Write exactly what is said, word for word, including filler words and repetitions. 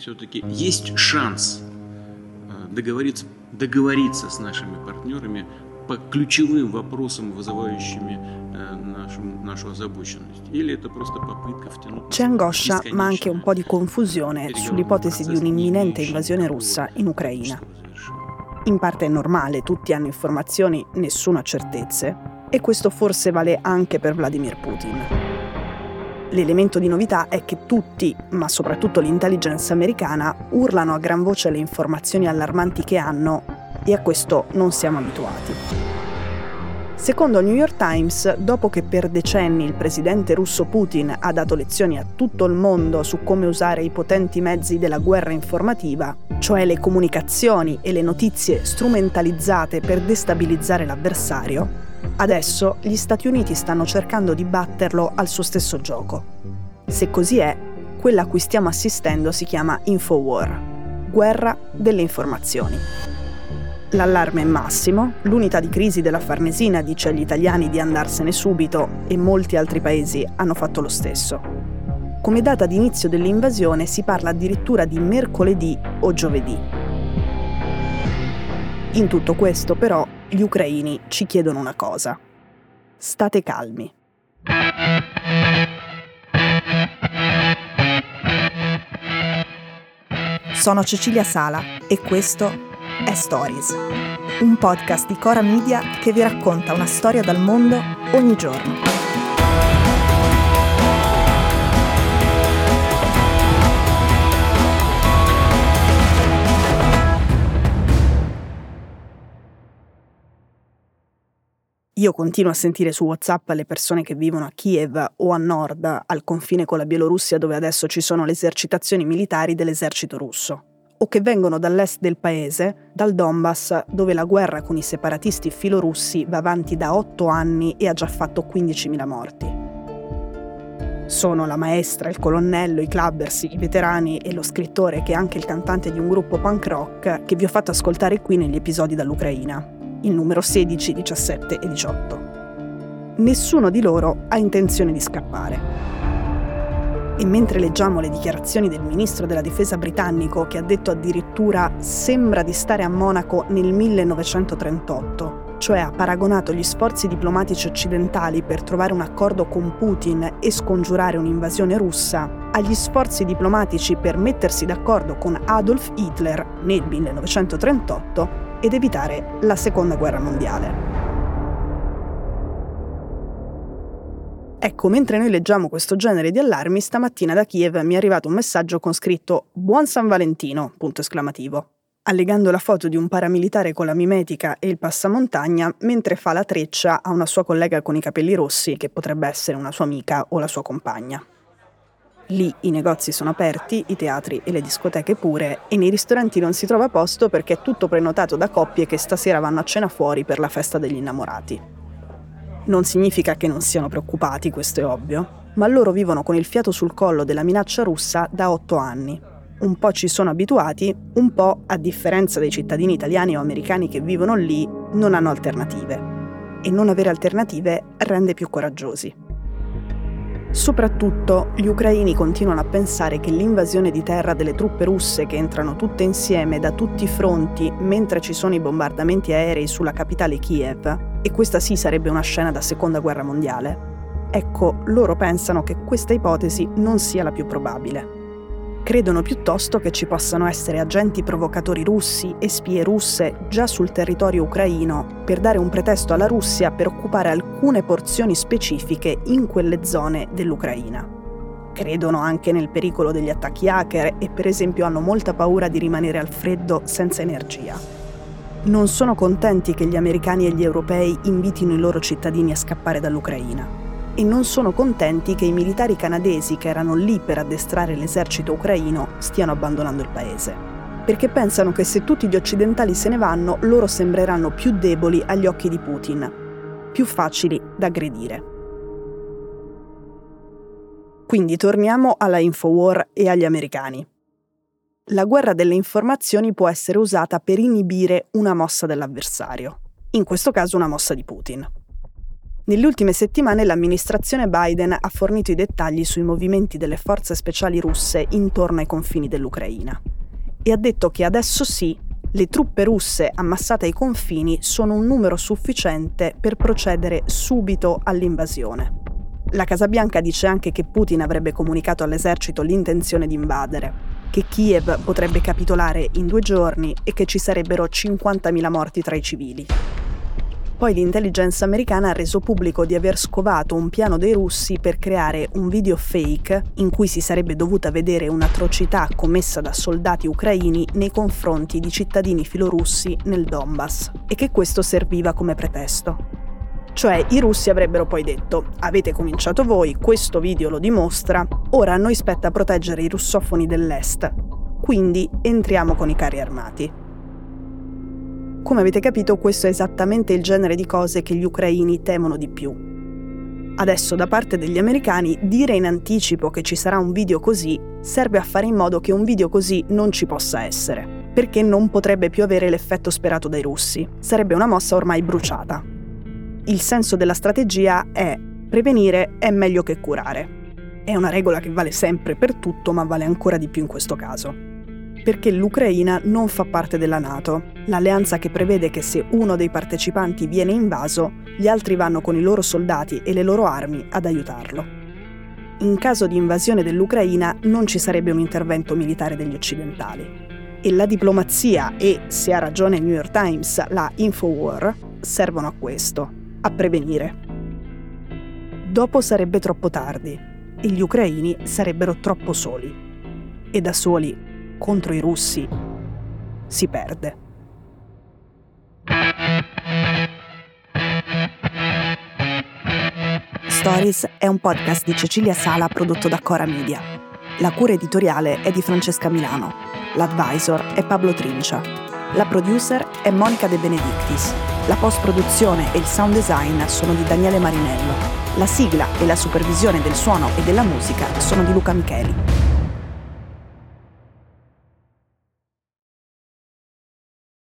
все-таки есть шанс договориться, договориться с нашими партнерами по ключевым вопросам, вызывающими нашу, naшу озабоченность. Или это просто попытка втянуть. C'è angoscia, ma anche un po' di confusione sull'ipotesi di un'imminente invasione russa in Ucraina. In parte è normale, tutti hanno informazioni, nessuno ha certezze, e questo forse vale anche per Vladimir Putin. L'elemento di novità è che tutti, ma soprattutto l'intelligence americana, urlano a gran voce le informazioni allarmanti che hanno, e a questo non siamo abituati. Secondo il New York Times, dopo che per decenni il presidente russo Putin ha dato lezioni a tutto il mondo su come usare i potenti mezzi della guerra informativa, cioè le comunicazioni e le notizie strumentalizzate per destabilizzare l'avversario, adesso gli Stati Uniti stanno cercando di batterlo al suo stesso gioco. Se così è, quella a cui stiamo assistendo si chiama Infowar, guerra delle informazioni. L'allarme è massimo, l'unità di crisi della Farnesina dice agli italiani di andarsene subito e molti altri paesi hanno fatto lo stesso. Come data di inizio dell'invasione si parla addirittura di mercoledì o giovedì. In tutto questo, però, gli ucraini ci chiedono una cosa. State calmi. Sono Cecilia Sala e questo è Stories, un podcast di Cora Media che vi racconta una storia dal mondo ogni giorno. Io continuo a sentire su WhatsApp le persone che vivono a Kiev o a nord, al confine con la Bielorussia, dove adesso ci sono le esercitazioni militari dell'esercito russo, o che vengono dall'est del paese, dal Donbass, dove la guerra con i separatisti filorussi va avanti da otto anni e ha già fatto quindicimila morti. Sono la maestra, il colonnello, i clubbers, i veterani e lo scrittore che è anche il cantante di un gruppo punk rock che vi ho fatto ascoltare qui negli episodi dall'Ucraina, il numero sedici, diciassette e diciotto. Nessuno di loro ha intenzione di scappare. E mentre leggiamo le dichiarazioni del ministro della difesa britannico, che ha detto addirittura sembra di stare a Monaco nel millenovecentotrentotto, cioè ha paragonato gli sforzi diplomatici occidentali per trovare un accordo con Putin e scongiurare un'invasione russa, agli sforzi diplomatici per mettersi d'accordo con Adolf Hitler nel millenovecentotrentotto ed evitare la seconda guerra mondiale. Ecco, mentre noi leggiamo questo genere di allarmi, stamattina da Kiev mi è arrivato un messaggio con scritto «Buon San Valentino!» punto esclamativo, allegando la foto di un paramilitare con la mimetica e il passamontagna mentre fa la treccia a una sua collega con i capelli rossi, che potrebbe essere una sua amica o la sua compagna. Lì i negozi sono aperti, i teatri e le discoteche pure, e nei ristoranti non si trova posto perché è tutto prenotato da coppie che stasera vanno a cena fuori per la festa degli innamorati. Non significa che non siano preoccupati, questo è ovvio, ma loro vivono con il fiato sul collo della minaccia russa da otto anni. Un po' ci sono abituati, un po', a differenza dei cittadini italiani o americani che vivono lì, non hanno alternative. E non avere alternative rende più coraggiosi. Soprattutto, gli ucraini continuano a pensare che l'invasione di terra delle truppe russe che entrano tutte insieme da tutti i fronti mentre ci sono i bombardamenti aerei sulla capitale Kiev, e questa sì sarebbe una scena da seconda guerra mondiale, ecco, loro pensano che questa ipotesi non sia la più probabile. Credono piuttosto che ci possano essere agenti provocatori russi e spie russe già sul territorio ucraino per dare un pretesto alla Russia per occupare alcune porzioni specifiche in quelle zone dell'Ucraina. Credono anche nel pericolo degli attacchi hacker e per esempio hanno molta paura di rimanere al freddo senza energia. Non sono contenti che gli americani e gli europei invitino i loro cittadini a scappare dall'Ucraina. E non sono contenti che i militari canadesi che erano lì per addestrare l'esercito ucraino stiano abbandonando il paese. Perché pensano che se tutti gli occidentali se ne vanno, loro sembreranno più deboli agli occhi di Putin, più facili da aggredire. Quindi torniamo alla Infowar e agli americani. La guerra delle informazioni può essere usata per inibire una mossa dell'avversario, in questo caso una mossa di Putin. Nelle ultime settimane l'amministrazione Biden ha fornito i dettagli sui movimenti delle forze speciali russe intorno ai confini dell'Ucraina e ha detto che adesso sì, le truppe russe ammassate ai confini sono un numero sufficiente per procedere subito all'invasione. La Casa Bianca dice anche che Putin avrebbe comunicato all'esercito l'intenzione di invadere, che Kiev potrebbe capitolare in due giorni e che ci sarebbero cinquantamila morti tra i civili. Poi l'intelligence americana ha reso pubblico di aver scovato un piano dei russi per creare un video fake in cui si sarebbe dovuta vedere un'atrocità commessa da soldati ucraini nei confronti di cittadini filorussi nel Donbass e che questo serviva come pretesto. Cioè i russi avrebbero poi detto: avete cominciato voi, questo video lo dimostra, ora a noi spetta proteggere i russofoni dell'est, quindi entriamo con i carri armati. Come avete capito, questo è esattamente il genere di cose che gli ucraini temono di più. Adesso, da parte degli americani, dire in anticipo che ci sarà un video così serve a fare in modo che un video così non ci possa essere, perché non potrebbe più avere l'effetto sperato dai russi. Sarebbe una mossa ormai bruciata. Il senso della strategia è: prevenire è meglio che curare. È una regola che vale sempre per tutto, ma vale ancora di più in questo caso. Perché l'Ucraina non fa parte della NATO, l'alleanza che prevede che se uno dei partecipanti viene invaso, gli altri vanno con i loro soldati e le loro armi ad aiutarlo. In caso di invasione dell'Ucraina non ci sarebbe un intervento militare degli occidentali. E la diplomazia e, se ha ragione il New York Times, la Infowar, servono a questo, a prevenire. Dopo sarebbe troppo tardi e gli ucraini sarebbero troppo soli. E da soli contro i russi si perde. Stories è un podcast di Cecilia Sala prodotto da Cora Media. La cura editoriale è di Francesca Milano. L'advisor è Pablo Trincia. La producer è Monica De Benedictis. La post-produzione e il sound design sono di Daniele Marinello. La sigla e la supervisione del suono e della musica sono di Luca Micheli.